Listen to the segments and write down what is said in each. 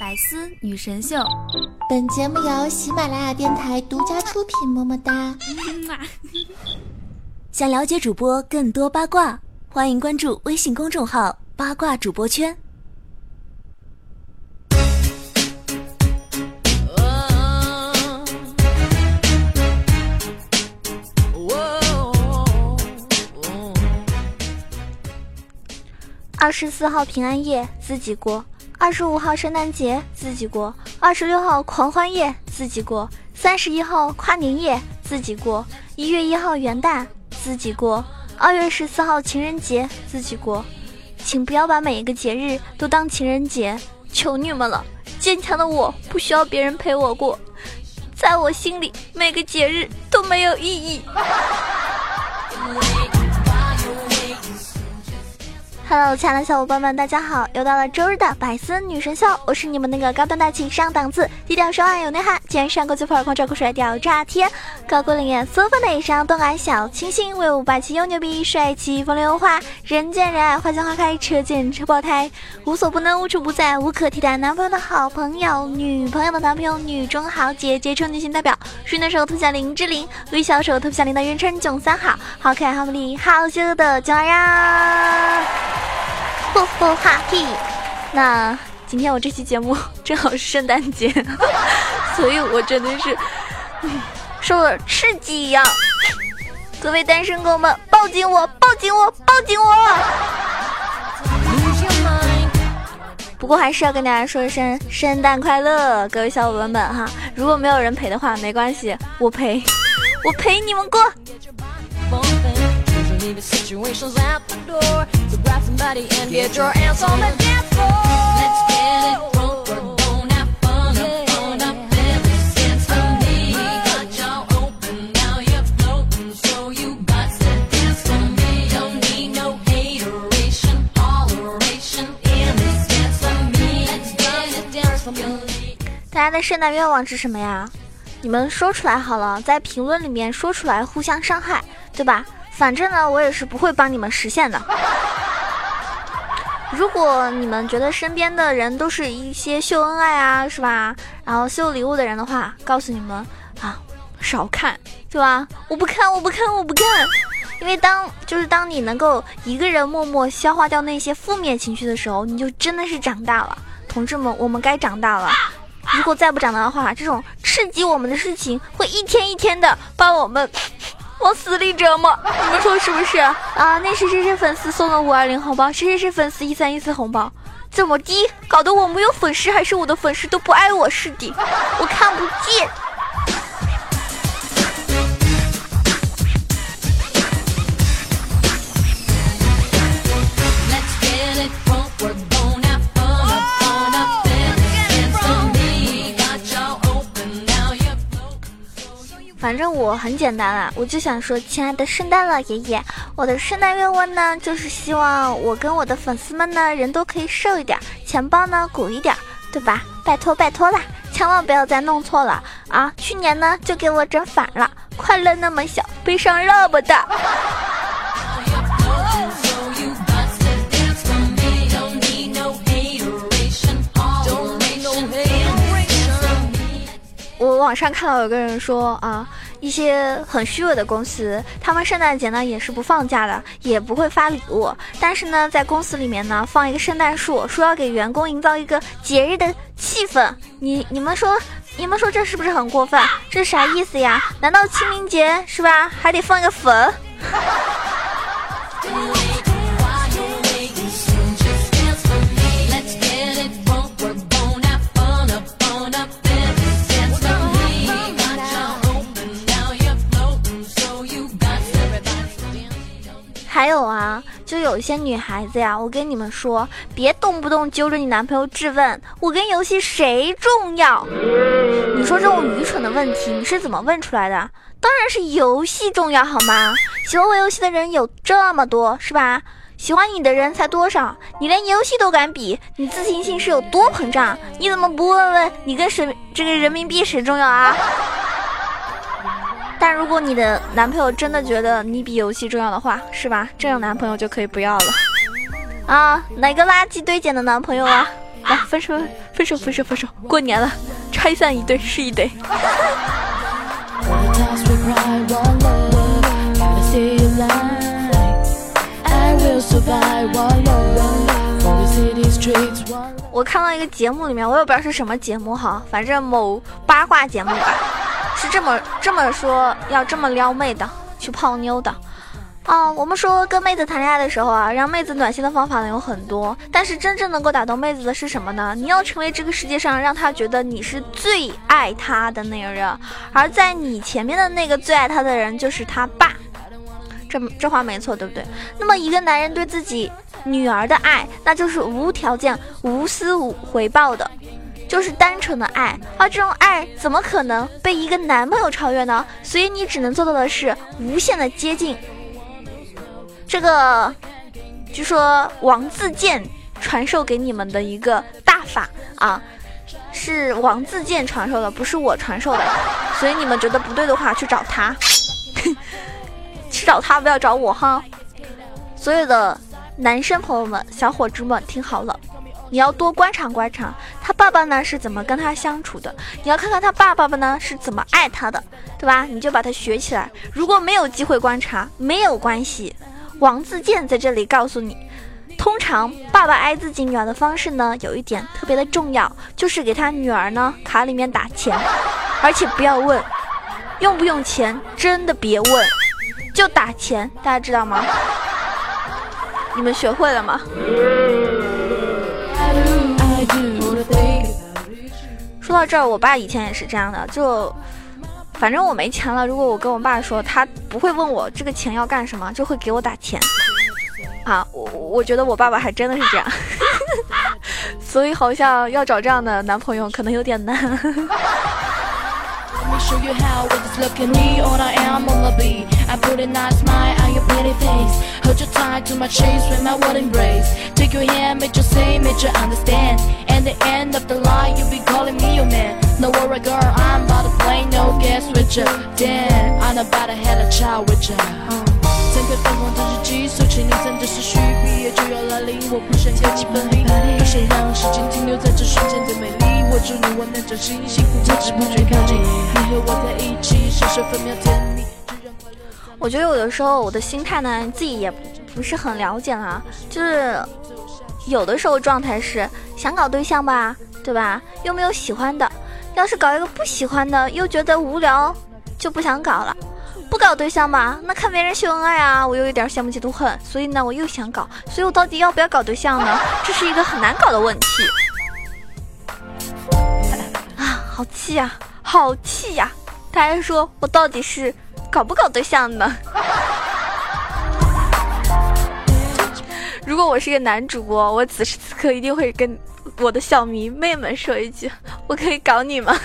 百思女神秀， 本节目由喜马拉雅电台独家出品，么么哒。 想了解主播更多八卦，欢迎关注微信公众号八卦主播圈。 24号平安夜自己过，25号圣诞节自己过，26号狂欢夜自己过，31号跨年夜自己过，1月1号元旦自己过，2月14号情人节自己过。请不要把每一个节日都当情人节，求你们了！坚强的我不需要别人陪我过，在我心里每个节日都没有意义。Hello， 亲爱的小伙伴们，大家好！又到了周日的百思女神秀，我是你们那个高端大气上档次、低调奢华有内涵、既然上过最普洱狂照酷帅屌炸天、高贵冷艳苏风的以上动感小清新、威武霸气又牛逼、帅气风流有花、人见人爱、花见花开、车见车爆胎、无所不能、无处不在、无可替代男朋友的好朋友、女朋友的男朋友、女中豪杰、杰出女性代表、水嫩手特效林志玲、微笑手特效林的元称囧三好、好可爱好美丽好邪恶的囧儿呀！嚯嚯哈嘿！那今天我这期节目正好是圣诞节，所以我真的是受了刺激一样。各位单身狗们，抱紧我，抱紧我，抱紧我！不过还是要跟大家说一声圣诞快乐，各位小伙伴们哈！如果没有人陪的话，没关系，我陪，我陪你们过。Leave the situations at the door, so grab somebody and get your ass on the dance floor. Let's get it drunk, we're gonna have fun up, fun up, let's dance to me. Got y'all open, now you're floating, so you got to dance to me. Don't need no hateration, holleration in this dance to me. Let's get it dance to me. 大家的圣诞愿望是什么呀？你们说出来好了，在评论里面说出来，互相伤害，对吧？反正呢，我也是不会帮你们实现的。如果你们觉得身边的人都是一些秀恩爱啊，是吧？然后秀礼物的人的话，告诉你们啊，少看，对吧？我不看，我不看，我不看。因为当你能够一个人默默消化掉那些负面情绪的时候，你就真的是长大了。同志们，我们该长大了。如果再不长大的话，这种刺激我们的事情会一天一天的把我们往死里折磨，你们说是不是啊？那谁谁谁粉丝送了520红包，谁谁谁粉丝1314红包，怎么的？搞得我没有粉丝还是我的粉丝都不爱我似的，我看不见。反正我很简单啦，我就想说，亲爱的圣诞老爷爷，我的圣诞愿望呢，就是希望我跟我的粉丝们呢，人都可以瘦一点，钱包呢鼓一点，对吧？拜托拜托啦，千万不要再弄错了啊！去年呢就给我整反了，快乐那么小，悲伤那么大。我网上看到有个人说啊，一些很虚伪的公司，他们圣诞节呢也是不放假的，也不会发礼物，但是呢在公司里面呢放一个圣诞树，说要给员工营造一个节日的气氛。你们说这是不是很过分？这是啥意思呀？难道清明节是吧还得放一个坟？还有啊，就有一些女孩子呀，我跟你们说，别动不动揪着你男朋友质问我跟游戏谁重要。你说这种愚蠢的问题你是怎么问出来的？当然是游戏重要好吗？喜欢玩游戏的人有这么多，是吧？喜欢你的人才多少？你连游戏都敢比，你自信心是有多膨胀？你怎么不问问你跟这个人民币谁重要啊？但如果你的男朋友真的觉得你比游戏重要的话，是吧？这种男朋友就可以不要了啊！哪个垃圾堆捡的男朋友啊？ 来分手，过年了，拆散一对是一对。我看到一个节目里面，我也不知道是什么节目哈，反正某八卦节目吧，是这么说，要这么撩妹的，去泡妞的。我们说跟妹子谈恋爱的时候啊，让妹子暖心的方法呢有很多，但是真正能够打动妹子的是什么呢？你要成为这个世界上让她觉得你是最爱她的那个人，而在你前面的那个最爱她的人就是他爸。这话没错，对不对？那么一个男人对自己女儿的爱，那就是无条件无私无回报的，就是单纯的爱，而这种爱怎么可能被一个男朋友超越呢？所以你只能做到的是无限的接近。这个据说王自健传授给你们的一个大法啊，是王自健传授的，不是我传授的，所以你们觉得不对的话去找他去找他，不要找我哈。所有的男生朋友们小伙子们听好了，你要多观察观察他爸爸呢是怎么跟他相处的，你要看看他爸爸呢是怎么爱他的，对吧？你就把他学起来。如果没有机会观察没有关系，王自健在这里告诉你，通常爸爸爱自己女儿的方式呢有一点特别的重要，就是给他女儿呢卡里面打钱，而且不要问用不用钱，真的别问，就打钱，大家知道吗？你们学会了吗？说到这儿，我爸以前也是这样的，就反正我没钱了，如果我跟我爸说，他不会问我这个钱要干什么，就会给我打钱啊。我觉得我爸爸还真的是这样所以好像要找这样的男朋友可能有点难 show you how with this look at me, all I am on my beat. I put a nice smile on your pretty face. Hold you tight to my chest with my word embrace. Take your hand, make you say, make you understand. And the end of the line, you'll be calling me your man. No worry, girl, I'm about to play no guess with you. Damn, I'm about to have a child with you. 整个灯光真是急速，请你真的是需毕业就要来临，我不想有几分力，不想让时间停留在这瞬间的美丽。我祝你我能掌心，幸福不知不觉靠近，你和我在一起，时时分秒甜蜜。 我觉得有的时候我的心态呢，自己也不是很了解啊，就是有的时候状态是想搞对象吧，对吧？又没有喜欢的，要是搞一个不喜欢的，又觉得无聊，就不想搞了。不搞对象嘛，那看别人秀恩爱啊，我又有点羡慕嫉妒恨，所以呢我又想搞，所以我到底要不要搞对象呢？这是一个很难搞的问题啊，好气呀，好气呀！大家说我到底是搞不搞对象呢？如果我是一个男主播，我此时此刻一定会跟我的小迷妹们说一句，我可以搞你吗？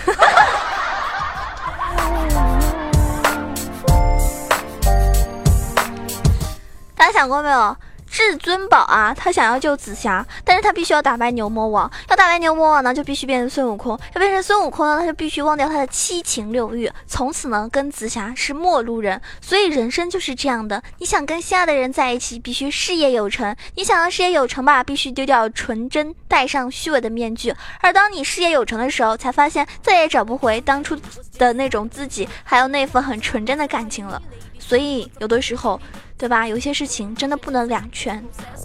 大家想过没有？至尊宝啊，他想要救紫霞，但是他必须要打败牛魔王。要打败牛魔王呢，就必须变成孙悟空。要变成孙悟空呢，他就必须忘掉他的七情六欲，从此呢，跟紫霞是陌路人。所以人生就是这样的，你想跟心爱的人在一起，必须事业有成。你想要事业有成吧，必须丢掉纯真，戴上虚伪的面具。而当你事业有成的时候，才发现再也找不回当初的那种自己，还有那份很纯真的感情了。所以有的时候，对吧？有些事情真的不能两全。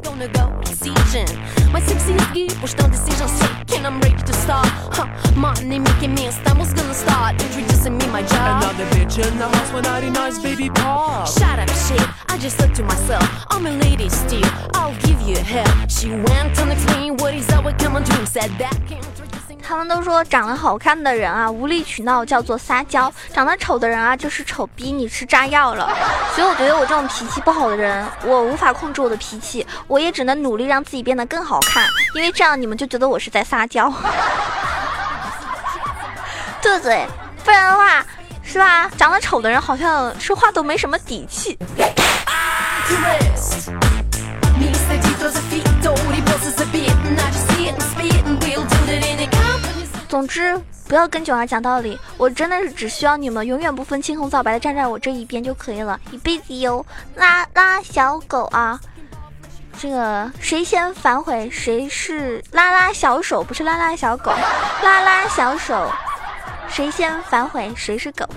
他们都说长得好看的人啊无理取闹叫做撒娇，长得丑的人啊就是丑逼你吃炸药了。所以我觉得我这种脾气不好的人，我无法控制我的脾气，我也只能努力让自己变得更好看，因为这样你们就觉得我是在撒娇对不对？不然的话是吧，长得丑的人好像说话都没什么底气。总之不要跟囧儿讲道理，我真的是只需要你们永远不分青红皂白的站在我这一边就可以了，一辈子哟。拉拉小狗啊， 这个谁先反悔谁是拉拉小手，不是拉拉小狗，拉拉小手，谁先反悔谁是狗。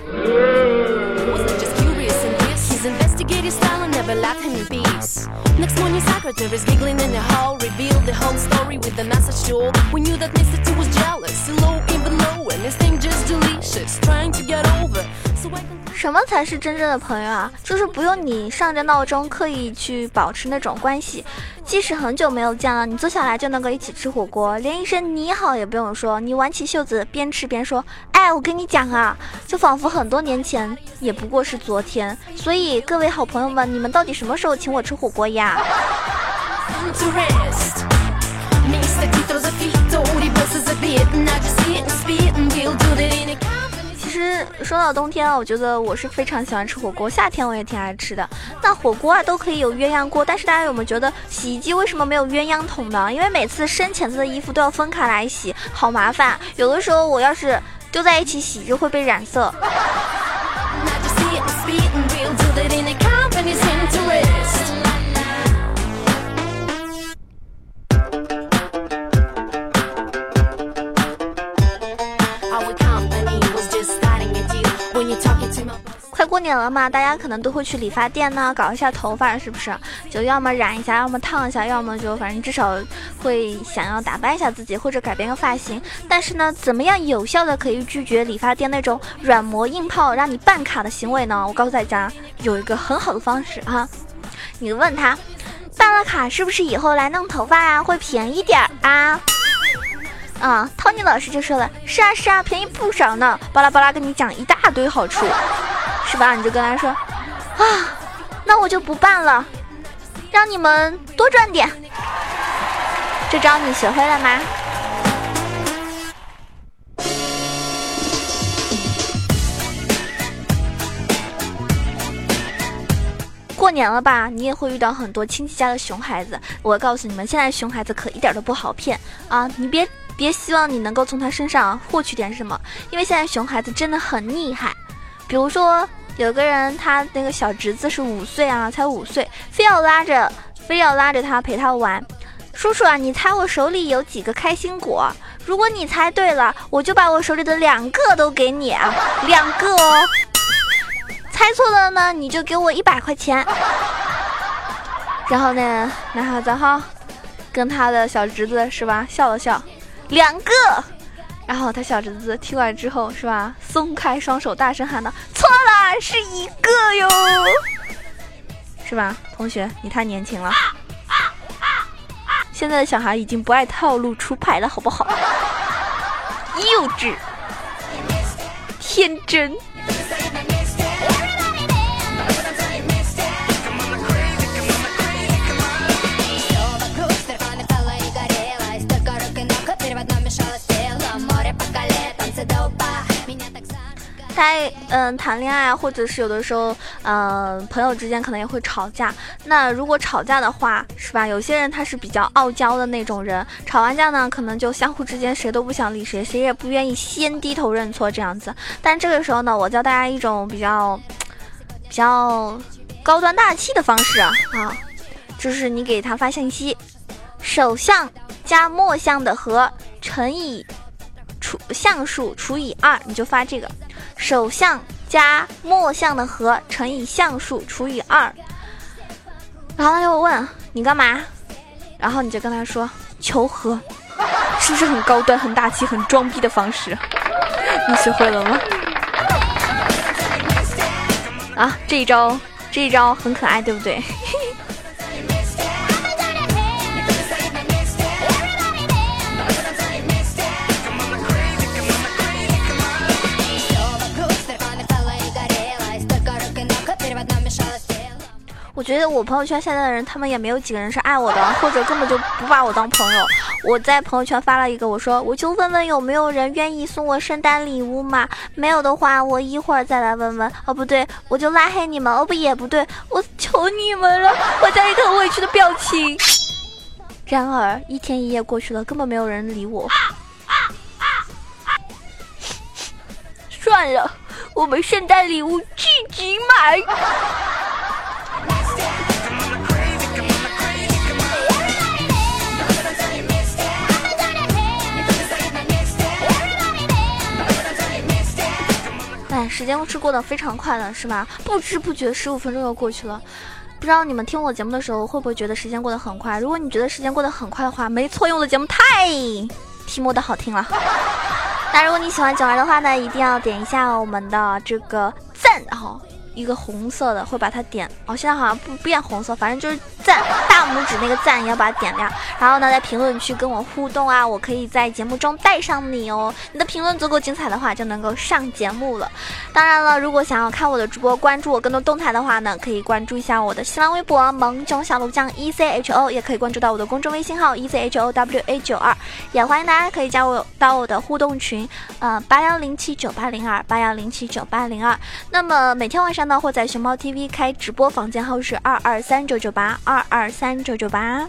Investigative style and never left him in peace. Next morning, secretaries giggling in the hall revealed the whole story with the message to all. We knew that Mr. T was jealous, low even low, and his thing just delicious, trying to get over. So I can... 什么才是真正的朋友啊？就是不用你上着闹钟刻意去保持那种关系，即使很久没有见了，你坐下来就能够一起吃火锅，连一声你好也不用说，你挽起袖子边吃边说，哎，我跟你讲啊，就仿佛很多年前也不过是昨天。所以各位好朋友们，你们到底什么时候请我吃火锅呀？其实说到冬天啊，我觉得我是非常喜欢吃火锅，夏天我也挺爱吃的。那火锅啊都可以有鸳鸯锅，但是大家有没有觉得洗衣机为什么没有鸳鸯桶呢？因为每次深浅色的衣服都要分开来洗，好麻烦。有的时候我要是丢在一起洗就会被染色。快过年了嘛，大家可能都会去理发店呢，搞一下头发，是不是？就要么染一下，要么烫一下，要么就反正至少会想要打扮一下自己，或者改变个发型。但是呢，怎么样有效的可以拒绝理发店那种软磨硬泡让你办卡的行为呢？我告诉大家，有一个很好的方式哈，你问他，办了卡是不是以后来弄头发啊会便宜点啊？Tony 老师就说了，是啊是啊，便宜不少呢，巴拉巴拉跟你讲一大堆好处，是吧？你就跟他说啊，那我就不办了，让你们多赚点。这招你学会了吗？过年了吧，你也会遇到很多亲戚家的熊孩子。我告诉你们，现在熊孩子可一点都不好骗啊！你别希望你能够从他身上获取点什么，因为现在熊孩子真的很厉害。比如说有个人，他那个小侄子是5岁啊，才5岁，非要拉着他陪他玩。叔叔啊，你猜我手里有几个开心果？如果你猜对了，我就把我手里的2个都给你啊，2个哦。猜错了呢，你就给我100块钱。然后呢，男孩子哈跟他的小侄子是吧笑了笑，2个。然后他小侄子听完之后是吧，松开双手，大声喊道：“错了，是1个哟！”是吧，同学，你太年轻了。现在的小孩已经不爱套路出牌了，好不好？幼稚，天真。谈恋爱或者是有的时候朋友之间可能也会吵架。那如果吵架的话是吧，有些人他是比较傲娇的那种人，吵完架呢可能就相互之间谁都不想理谁，谁也不愿意先低头认错这样子。但这个时候呢，我教大家一种比较高端大气的方式啊，就是你给他发信息，首项加末项的和乘以项数除以2，你就发这个首项加末项的和乘以项数除以2。然后他就问你干嘛，然后你就跟他说求和，是不是很高端很大气很装逼的方式？你学会了吗？啊，这一招很可爱，对不对？我觉得我朋友圈现在的人，他们也没有几个人是爱我的，或者根本就不把我当朋友。我在朋友圈发了一个，我说我就问问有没有人愿意送我圣诞礼物嘛？没有的话，我一会儿再来问问。哦，不对，我就拉黑你们。哦，不也不对，我求你们了。我加一个很委屈的表情。然而1天1夜过去了，根本没有人理我。算了，我们圣诞礼物自己买。 哎，时间是过得非常快了，是吧？不知不觉15分钟又过去了。不知道你们听我节目的时候会不会觉得时间过得很快？如果你觉得时间过得很快的话，没错，因为我的节目太题目的好听了。那如果你喜欢囧儿的话呢，一定要点一下我们的这个赞，然后一个红色的会把它点现在好像不变红色，反正就是赞，大拇指那个赞也要把它点亮。然后呢，在评论区跟我互动啊，我可以在节目中带上你哦。你的评论足够精彩的话，就能够上节目了。当然了，如果想要看我的直播，关注我更多动态的话呢，可以关注一下我的新浪微博萌囧小鹿酱 ECHO， 也可以关注到我的公众微信号 ECHOWA92，也欢迎大家可以加入到我的互动群8107980281079802。那么每天晚上呢，会在熊猫 TV 开直播，房间号是223998223998。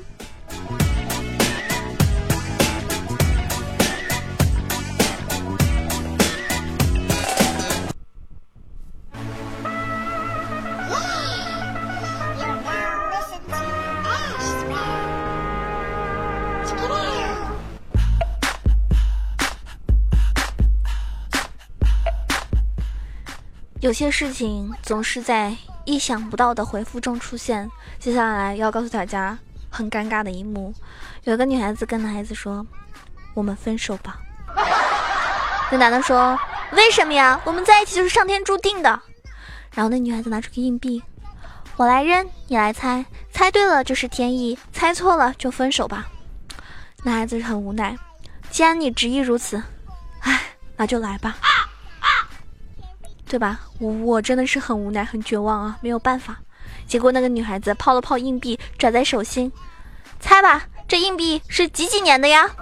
有些事情总是在意想不到的回复中出现。接下来要告诉大家很尴尬的一幕，有一个女孩子跟男孩子说，我们分手吧。那男的说，为什么呀？我们在一起就是上天注定的。然后那女孩子拿出个硬币，我来扔，你来猜，猜对了就是天意，猜错了就分手吧。男孩子很无奈，既然你执意如此，那就来吧，对吧？我真的是很无奈很绝望啊，没有办法。结果那个女孩子抛了抛硬币，拽在手心，猜吧，这硬币是几年的呀？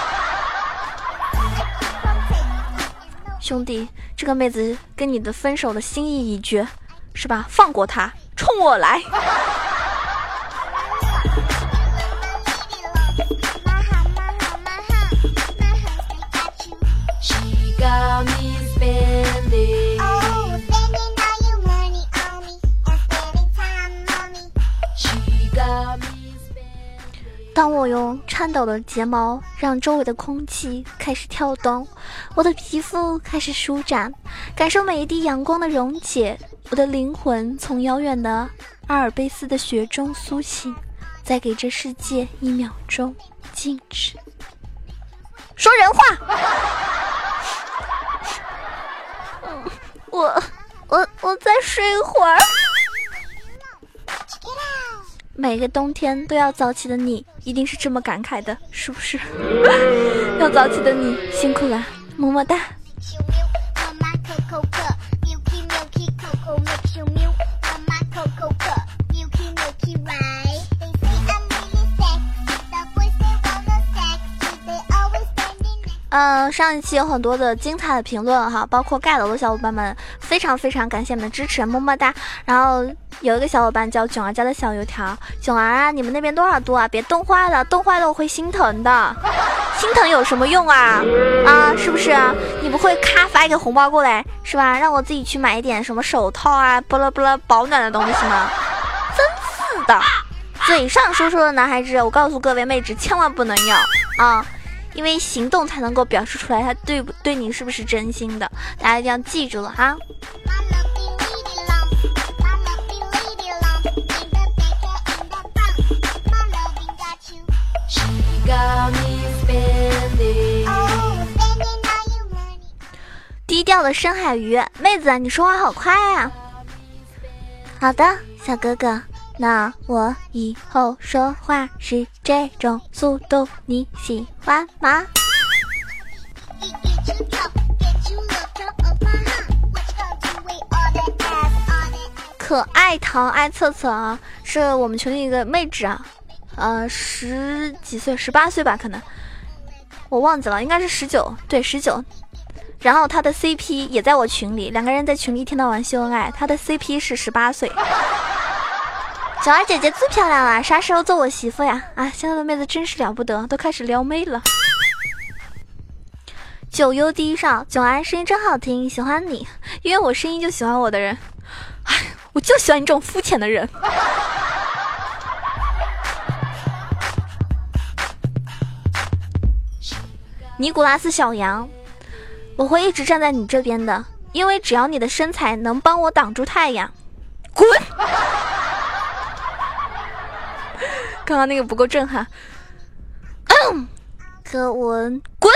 兄弟，这个妹子跟你的分手的心意已决，是吧？放过她，冲我来。当我用颤抖的睫毛让周围的空气开始跳动，我的皮肤开始舒展，感受每一滴阳光的溶解，我的灵魂从遥远的阿尔卑斯的雪中苏醒，再给这世界1秒钟静止。说人话。我再睡一会儿。每个冬天都要早起的你，一定是这么感慨的，是不是？要早起的你辛苦了，么么哒。上一期有很多的精彩的评论哈，包括盖楼的小伙伴们，非常非常感谢你们的支持，么么哒。然后有一个小伙伴叫囧儿家的小油条，囧儿啊，你们那边多少度啊？别冻坏了，冻坏了我会心疼的。心疼有什么用啊？是不是？你不会咔发一个红包过来是吧？让我自己去买一点什么手套啊，巴拉巴拉保暖的东西吗？真是的，嘴上说说的男孩子，我告诉各位妹纸千万不能要啊！因为行动才能够表示出来他对你是不是真心的，大家一定要记住了哈。低调的深海鱼，妹子你说话好快啊。好的，小哥哥，那我以后说话是这种速度，你喜欢吗？可爱糖爱测测啊，是我们群里一个妹纸啊，10几岁，18岁吧，可能我忘记了，应该是19，对，19。然后他的 CP 也在我群里，两个人在群里一天到晚秀恩爱，他的 CP 是18岁。小二姐姐最漂亮了，啥时候做我媳妇呀？啊，现在的妹子真是了不得，都开始撩妹了。九优第一少，囧儿声音真好听，喜欢你，因为我声音就喜欢我的人。哎，我就喜欢你这种肤浅的人。尼古拉斯小羊，我会一直站在你这边的， 因为只要你的身材能帮我挡住太阳，滚！刚刚那个不够震撼。柯文滚！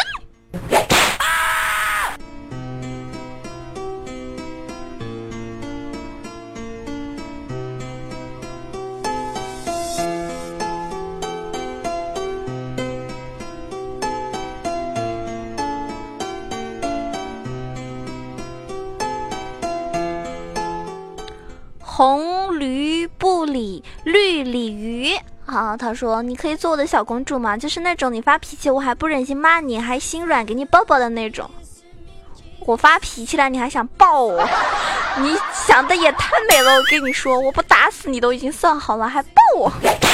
红驴不理绿鲤鱼。好，他说你可以做我的小公主吗？就是那种你发脾气我还不忍心骂你，还心软给你抱抱的那种。我发脾气了你还想抱我，你想的也太美了。我跟你说，我不打死你都已经算好了，还抱我。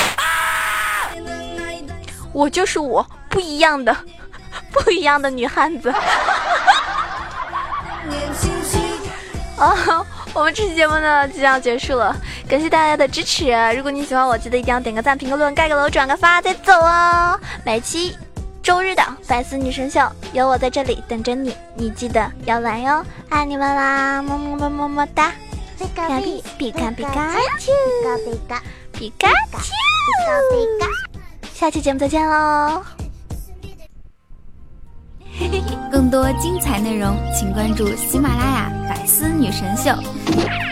我就是我，不一样的女汉子。我们这期节目呢即将结束了，感谢大家的支持。如果你喜欢我，记得一定要点个赞、评个论、盖个楼、转个发再走哦。每期周日的百思女神秀有我在这里等着你，你记得要来哟，爱你们啦，么么么么么哒。皮卡皮皮卡皮卡丘，皮卡丘，下期节目再见喽。 更多精彩内容，请关注喜马拉雅百思女神秀。